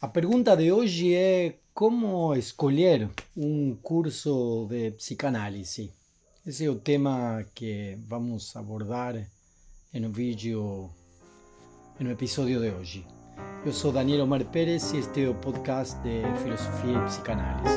A pergunta de hoje é como escolher um curso de psicanálise. Esse é o tema que vamos abordar no vídeo, no episódio de hoje. Eu sou Daniel Omar Pérez e este é o podcast de Filosofia e Psicanálise.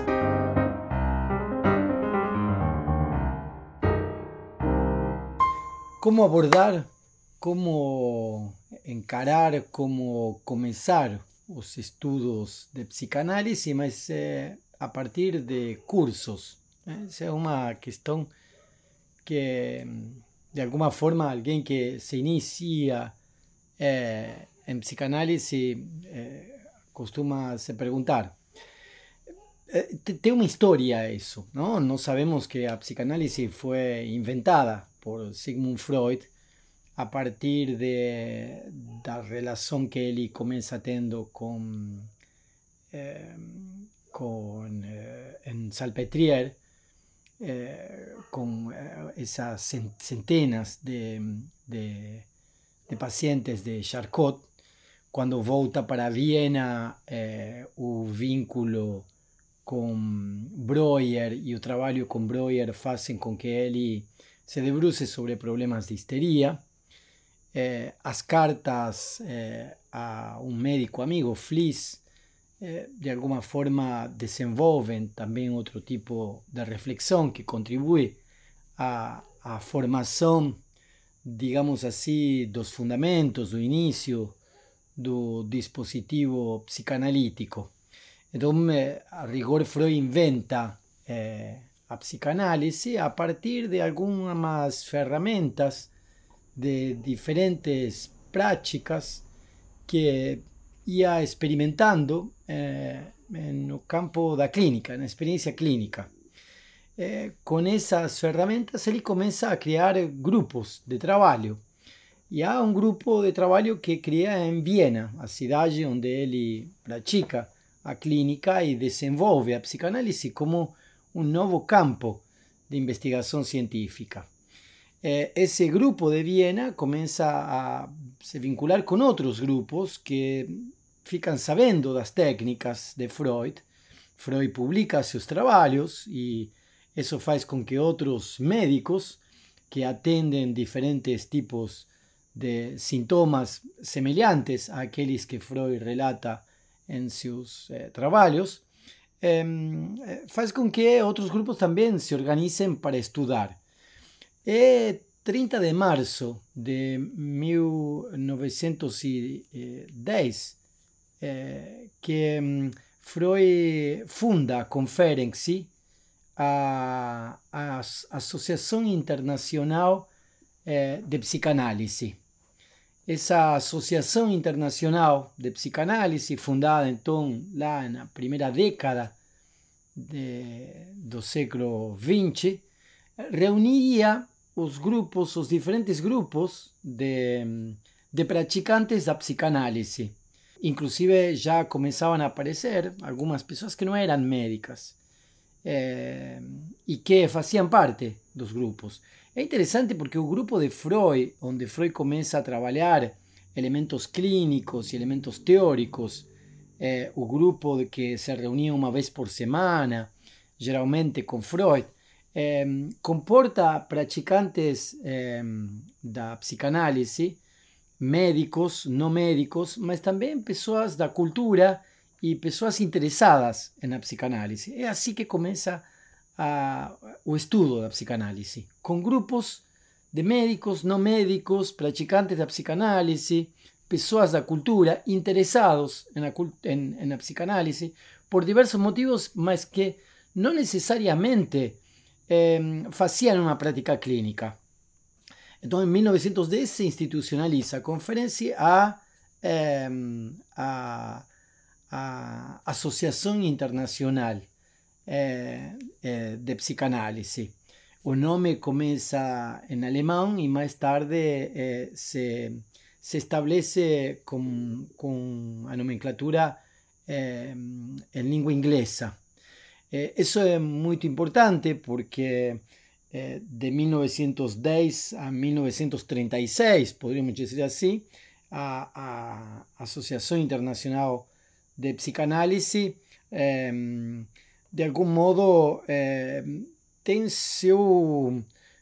Como abordar, como encarar, como começar os estudos de psicanálise, mas a partir de cursos. Essa é uma questão que, de alguma forma, alguém que se inicia em psicanálise costuma se perguntar. Tem uma história isso, não? Nós sabemos que a psicanálise foi inventada por Sigmund Freud a partir da relação que ele começa tendo em Salpêtrière, com essas centenas de pacientes de Charcot. Quando volta para Viena, o vínculo com Breuer e o trabalho com Breuer fazem com que ele se debruce sobre problemas de histeria. As cartas a um médico amigo, Fliess, de alguma forma desenvolvem também outro tipo de reflexão que contribui à formação, digamos assim, dos fundamentos, do início do dispositivo psicanalítico. Então, a rigor, Freud inventa a psicanálise a partir de algumas ferramentas de diferentes práticas que ia experimentando no campo da clínica, na experiência clínica. Com essas ferramentas ele começa a criar grupos de trabalho. E há um grupo de trabalho que cria em Viena, a cidade onde ele pratica a clínica e desenvolve a psicanálise como um novo campo de investigação científica. Esse grupo de Viena começa a se vincular com outros grupos que ficam sabendo das técnicas de Freud. Freud publica seus trabalhos e isso faz com que outros médicos que atendem diferentes tipos de sintomas semelhantes àqueles que Freud relata em seus trabalhos, faz com que outros grupos também se organizem para estudar. É 30 de março de 1910 que Freud funda a Conferência, a Associação Internacional de Psicanálise. Essa Associação Internacional de Psicanálise, fundada então lá na primeira década do século XX, reunia os diferentes grupos de praticantes da psicanálise. Inclusive já começavam a aparecer algumas pessoas que não eram médicas e que faziam parte dos grupos. É interessante porque o grupo de Freud, onde Freud começa a trabalhar elementos clínicos e elementos teóricos, o grupo que se reunia uma vez por semana, geralmente com Freud, comporta praticantes da psicanálise, médicos, não médicos, mas também pessoas da cultura e pessoas interessadas na psicanálise. É assim que começa o estudo da psicanálise, com grupos de médicos, não médicos, praticantes da psicanálise, pessoas da cultura interessados na psicanálise por diversos motivos, mas que não necessariamente faziam uma prática clínica. Então, em 1910 se institucionaliza a conferência a Associação Internacional de Psicanálise. O nome começa em alemão e mais tarde se estabelece com a nomenclatura em língua inglesa. Isso é muito importante porque de 1910 a 1936, poderíamos dizer assim, a Associação Internacional de psicanálise, de algum modo, tem seu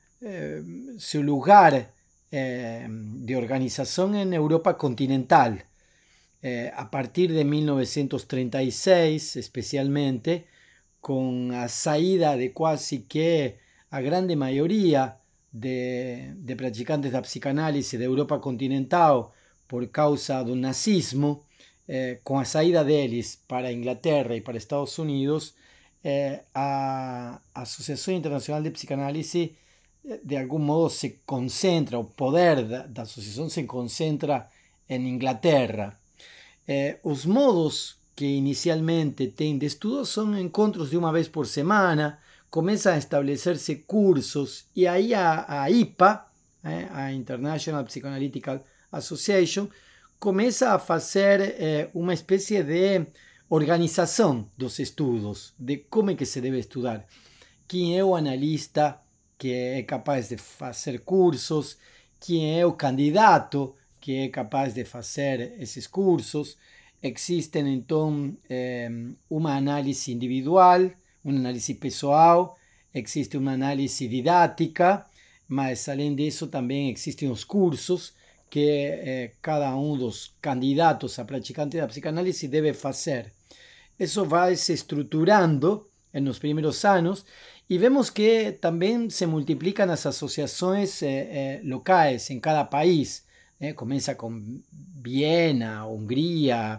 lugar de organização em Europa continental. A partir de 1936, especialmente, com a saída de quase que a grande maioria de praticantes da psicanálise da Europa continental por causa do nazismo, com a saída deles para a Inglaterra e para Estados Unidos, a Associação Internacional de Psicanálise de algum modo se concentra, o poder da associação se concentra em Inglaterra. Os modos que inicialmente tem de estudo são encontros de uma vez por semana, começam a estabelecer-se cursos, e aí a IPA, a International Psychoanalytic Association, começa a fazer uma espécie de organização dos estudos, de como é que se deve estudar, quem é o analista que é capaz de fazer cursos, quem é o candidato que é capaz de fazer esses cursos. Existem, então, uma análise individual, uma análise pessoal, existe uma análise didática, mas, além disso, também existem os cursos que cada um dos candidatos a praticantes da psicanálise deve fazer. Isso vai se estruturando nos primeiros anos e vemos que também se multiplicam as associações locais em cada país. Começa com Viena, Hungria,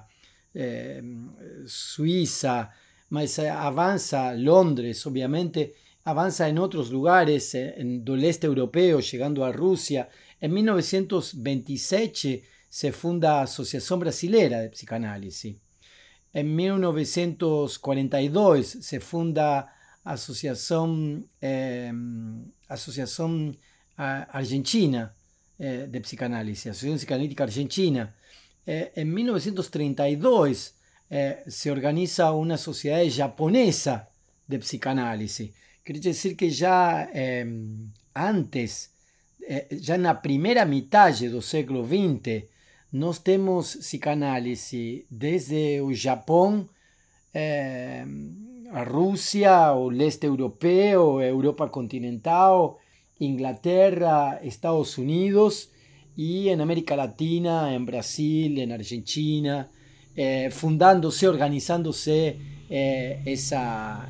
Suíça, mas avança Londres, obviamente, avança em outros lugares do leste europeu, chegando a Rússia. Em 1927 se funda a Associação Brasileira de Psicanálise. Em 1942 se funda a Associação Argentina de Psicanálise, Associação Psicanalítica Argentina. Em 1932 se organiza uma sociedade japonesa de psicanálise. Quer dizer que já antes, já na primeira metade do século XX, nós temos psicanálise desde o Japão, a Rússia, o leste europeu, a Europa continental, Inglaterra, Estados Unidos, e em América Latina, em Brasil, em Argentina, fundando-se, organizando-se essa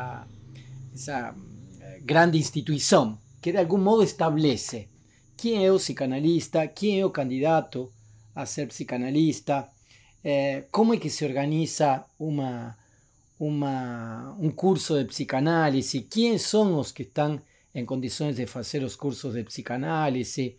grande instituição que de algum modo estabelece quem é o psicanalista, quem é o candidato a ser psicanalista, como é que se organiza um curso de psicanálise, quem são os que estão em condições de fazer os cursos de psicanálise.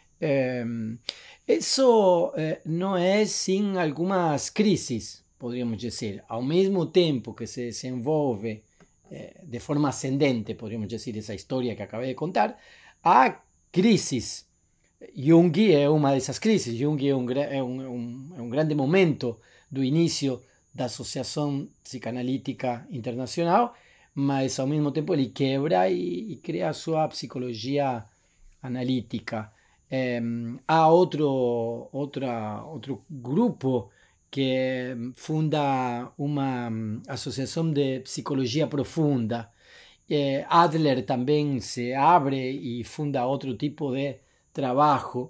Isso não é sem algumas crises, poderíamos dizer. Ao mesmo tempo que se desenvolve de forma ascendente, poderíamos dizer, essa história que acabei de contar, há crises. Jung é uma dessas crises. Jung é um grande momento do início da Associação Psicanalítica Internacional, mas ao mesmo tempo ele quebra e cria a sua psicologia analítica. Há outro grupo que funda uma associação de psicologia profunda. Adler também se abre e funda outro tipo de trabalho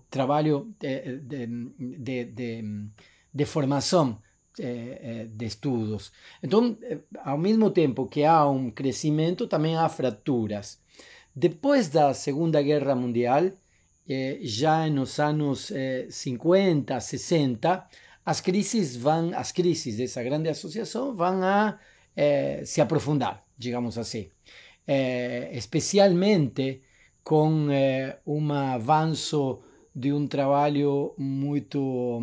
de formação de estudos. Então, ao mesmo tempo que há um crescimento, também há fraturas. Depois da Segunda Guerra Mundial, já nos anos 50, 60, as crises dessa grande associação vão a se aprofundar, digamos assim. Especialmente com um avanço de um trabalho muito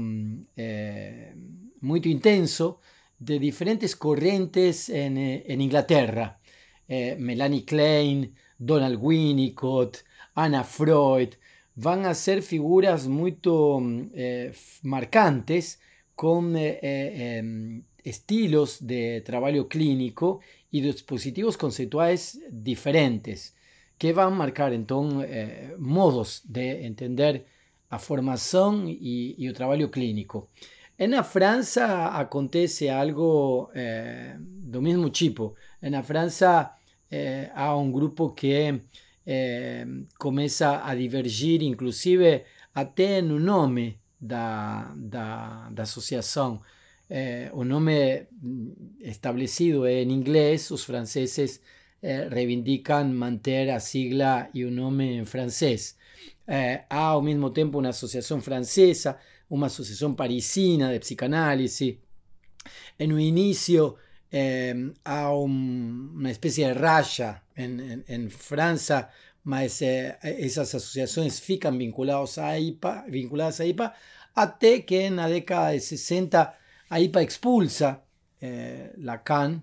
intenso de diferentes correntes em Inglaterra. Melanie Klein, Donald Winnicott, Anna Freud, vão a ser figuras muito marcantes, com estilos de trabalho clínico e dispositivos conceituais diferentes, que vão marcar, então, modos de entender a formação e o trabalho clínico. Na França acontece algo do mesmo tipo. Na França há um grupo que começa a divergir, inclusive até no nome da associação. O nome estabelecido é em inglês, os franceses reivindicam manter a sigla e o nome em francês. Há ao mesmo tempo uma associação francesa, uma associação parisina de psicanálise. No início há uma espécie de racha em França, mas essas associações ficam vinculadas à IPA, até que na década de 60 a IPA expulsa Lacan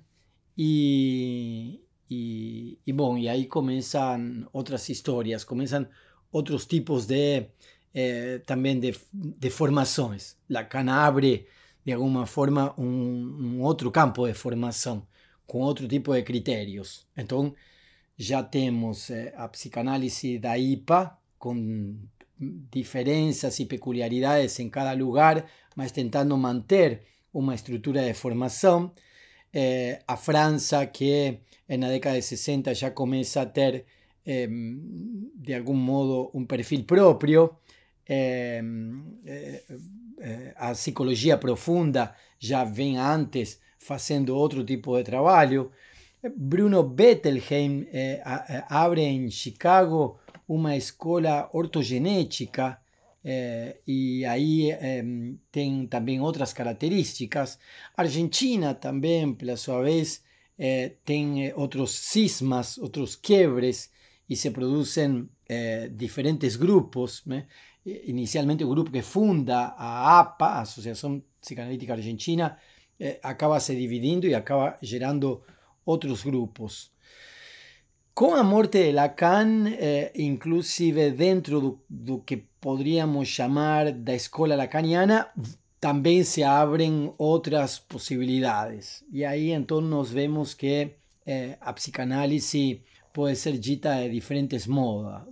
bom, e aí começam outras histórias, começam outros tipos também de formações. Lacan abre de alguma forma um outro campo de formação, com outro tipo de critérios. Então, já temos a psicanálise da IPA, com diferenças e peculiaridades em cada lugar, mas tentando manter uma estrutura de formação. A França, que na década de 60 já começa a ter, de algum modo, um perfil próprio. A psicologia profunda já vem antes fazendo outro tipo de trabalho. Bruno Bettelheim abre em Chicago uma escola ortogenética e aí tem também outras características. A Argentina também, pela sua vez, tem outros cismas, outros quiebres e se produzem diferentes grupos, né? Inicialmente o grupo que funda a APA, a Associação Psicanalítica Argentina, acaba se dividindo e acaba gerando outros grupos. Com a morte de Lacan, inclusive dentro do que poderíamos chamar da escola lacaniana, também se abrem outras possibilidades. E aí então nós vemos que a psicanálise pode ser dita de diferentes modos,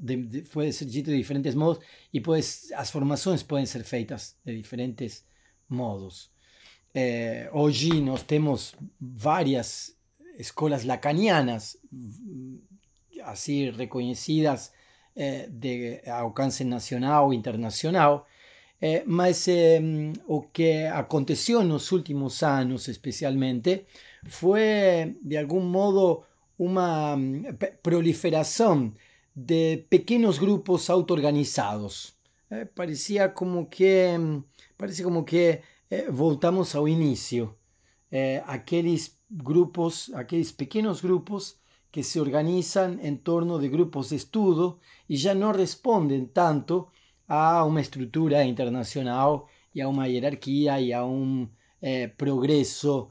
e as formações podem ser feitas de diferentes modos. Hoje nós temos várias escolas lacanianas, assim reconhecidas de alcance nacional e internacional, mas o que aconteceu nos últimos anos, especialmente, foi de algum modo uma proliferação de pequenos grupos auto-organizados. Parece como que voltamos ao início. Aqueles pequenos grupos que se organizam em torno de grupos de estudo e já não respondem tanto a uma estrutura internacional e a uma hierarquia e a um progresso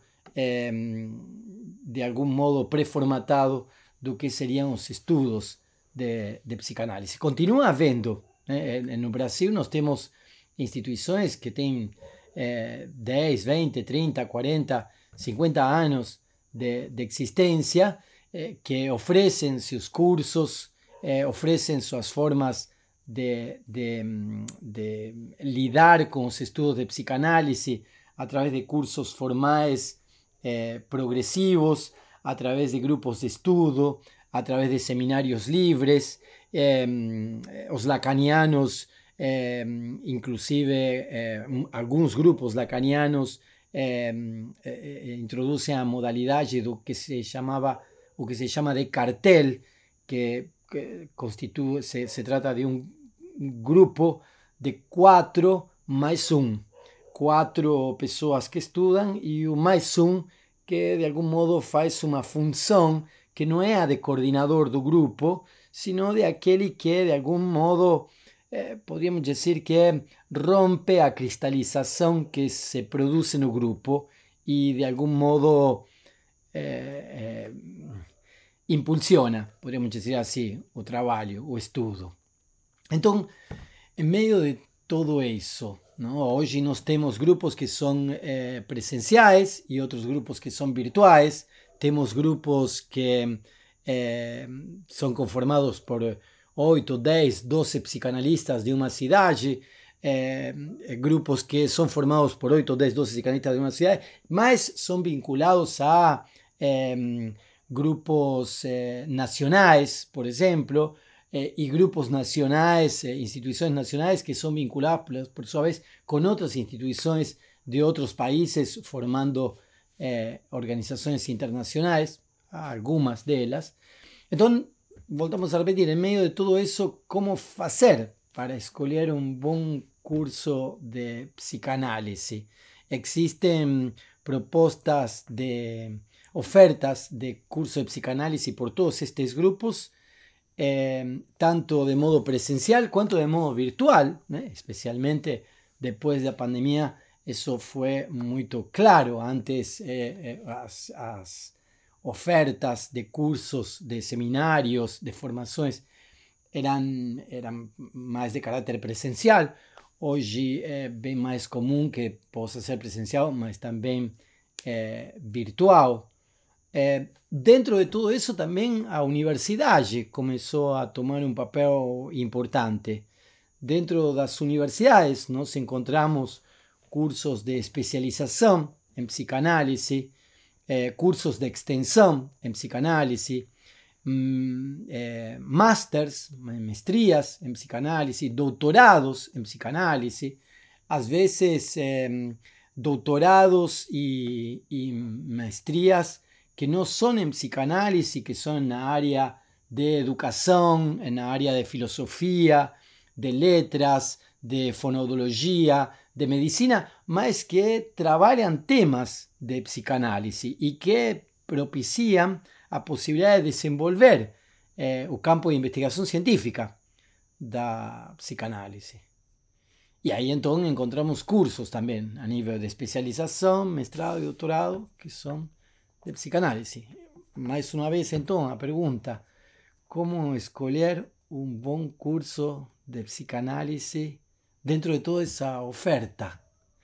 de algum modo pré-formatado do que seriam os estudos de psicanálise. Continua havendo. No Brasil nós temos instituições que têm 10, 20, 30, 40, 50 anos de existência, que oferecem seus cursos, oferecem suas formas de lidar com os estudos de psicanálise a través de cursos formais progressivos, a través de grupos de estudo, a través de seminários livres. Os lacanianos, inclusive alguns grupos lacanianos, introduzem a modalidade do que se chama de cartel, que se trata de um grupo de 4 mais 1. 4 pessoas que estudam e o mais um que de algum modo faz uma função que não é a de coordenador do grupo, sino de aquele que de algum modo podríamos dizer que rompe a cristalização que se produz no grupo e de algum modo impulsiona, podríamos dizer assim, o trabalho, o estudo. Então, em meio de todo isso, não? Hoje nós temos grupos que são presenciais e outros grupos que são virtuais. Temos grupos que são conformados por 8, 10, 12 psicanalistas de uma cidade. grupos que son formados por 8, 10, 12 psicanalistas de una ciudad, más son vinculados a grupos nacionales, por ejemplo, y grupos nacionales, instituciones nacionales que son vinculadas por su vez con otras instituciones de otros países, formando organizaciones internacionales, algunas de ellas. Entonces, voltamos a repetir, en medio de todo eso, ¿cómo hacer para escoger un buen curso de psicanálisis? Existen propuestas de ofertas de curso de psicanálisis por todos estos grupos, tanto de modo presencial cuanto de modo virtual, especialmente después de la pandemia. Eso fue muy claro. Antes las ofertas de cursos, de seminarios, de formaciones eran más de carácter presencial. Hoy es bien más común que possa ser presencial, mas también virtual. Dentro de todo eso también a universidad comenzó a tomar un papel importante. Dentro de las universidades nos encontramos cursos de especialización en psicanálisis, cursos de extensión en psicanálisis, másters, maestrías en psicanálisis, doctorados en psicanálisis, a veces doctorados y maestrías que no son en psicanálisis, que son en la área de educación, en la área de filosofía, de letras, de fonología, de medicina, más que trabajan temas de psicanálisis y que propician a posibilidad de desenvolver el campo de investigación científica da psicanálisis. Y ahí entonces encontramos cursos también a nivel de especialización, mestrado y doctorado, que son de psicanálisis. Más una vez entonces la pregunta, ¿cómo escoger un buen curso de psicanálisis dentro de toda esa oferta?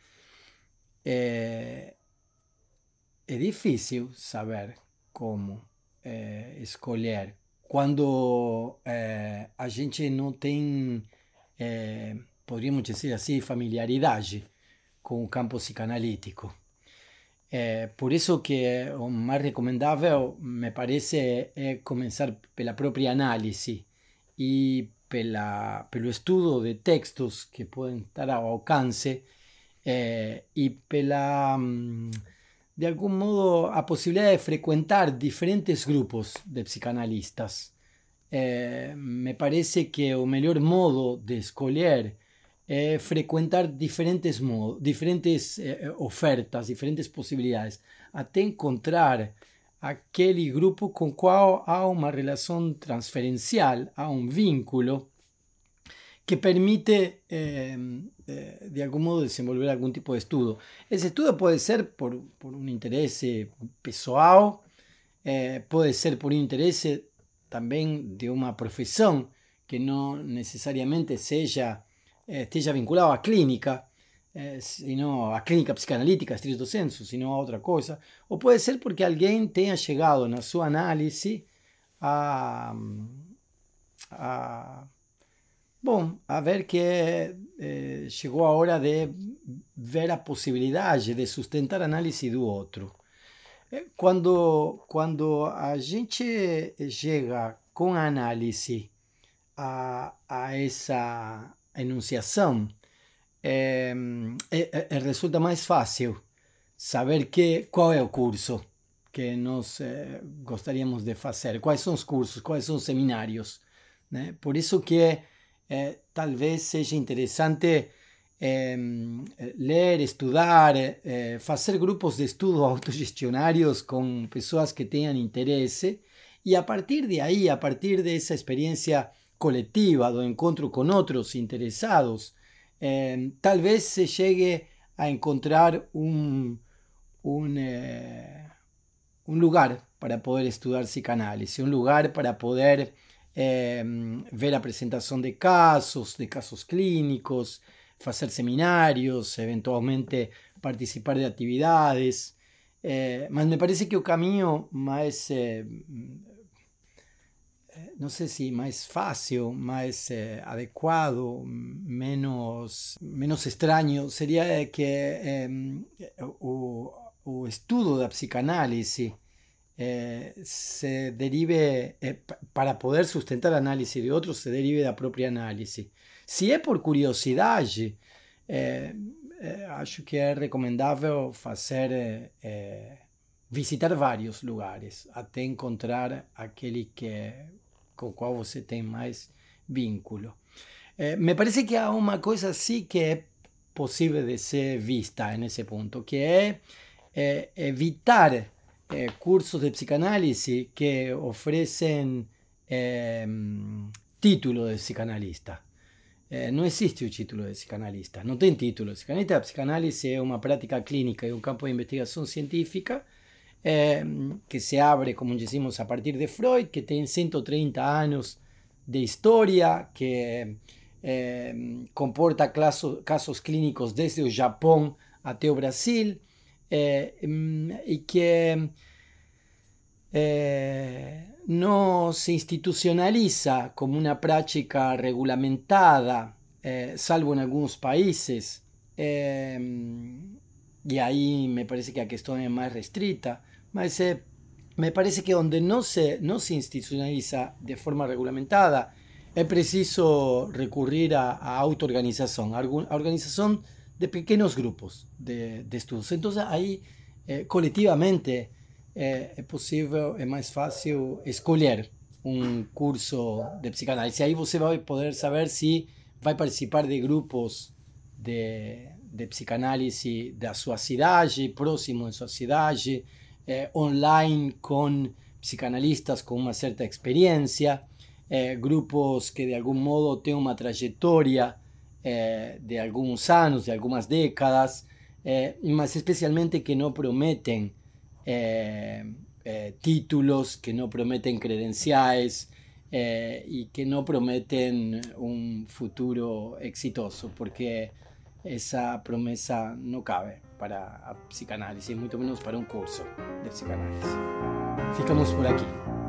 Es difícil saber cómo escolher quando a gente não tem, poderíamos dizer assim, familiaridade com o campo psicanalítico. Por isso que o mais recomendável, me parece, é começar pela própria análise e pelo estudo de textos que podem estar ao alcance e pela, de algum modo, a possibilidade de frequentar diferentes grupos de psicanalistas. Me parece que o melhor modo de escolher é frequentar diferentes ofertas, diferentes possibilidades, até encontrar aquele grupo com o qual há uma relação transferencial, há um vínculo que permite, de algum modo, desenvolver algum tipo de estudo. Esse estudo pode ser por um interesse pessoal, pode ser por um interesse também de uma profissão que não necessariamente esteja vinculado à clínica, sino a clínica psicanalítica, estricto sensu, sino a outra coisa. Ou pode ser porque alguém tenha chegado na sua análise a ver que chegou a hora de ver a possibilidade de sustentar a análise do outro. Quando a gente chega com a análise a essa enunciação, resulta mais fácil saber qual é o curso que nós gostaríamos de fazer, quais são os cursos, quais são os seminários, né? Por isso que talvez seja interessante ler, estudar, fazer grupos de estudo autogestionários com pessoas que tenham interesse, e a partir de aí, a partir dessa experiência coletiva, do encontro com outros interessados, talvez se chegue a encontrar um lugar para poder estudar psicanálise, um lugar para poder ver a apresentação de casos clínicos, fazer seminários, eventualmente participar de atividades, mas me parece que o caminho mais não sei se mais fácil, mais adequado, menos estranho, seria que o estudo da psicanálise se derive, para poder sustentar a análise de outros, se derive da própria análise. Se é por curiosidade, acho que é recomendável fazer, visitar vários lugares até encontrar aquele com o qual você tem mais vínculo. Me parece que há uma coisa assim que é possível de ser vista nesse ponto, que é evitar cursos de psicanálise que oferecem título de psicanalista. Não existe o título de psicanalista, não tem título de psicanalista. A psicanálise é uma prática clínica e um campo de investigação científica que se abre, como dizemos, a partir de Freud, que tem 130 anos de história, que comporta casos clínicos desde o Japão até o Brasil, e que no se institucionaliza como una práctica regulamentada, salvo en algunos países, y ahí me parece que la cuestión es más restrita, mas me parece que donde no se institucionaliza de forma regulamentada, es preciso recurrir a autoorganización, a organización de pequeños grupos de estudios. Entonces ahí colectivamente é possível, é mais fácil escolher um curso de psicanálise. Aí você vai poder saber se vai participar de grupos de psicanálise da sua cidade, próximo de sua cidade, online com psicanalistas com uma certa experiência, grupos que de algum modo têm uma trajetória de alguns anos, de algumas décadas, mas especialmente que não prometem títulos, que no prometen credenciales y que no prometen un futuro exitoso, porque esa promesa no cabe para a psicanálisis, mucho menos para un curso de psicanálisis. Ficamos por aquí.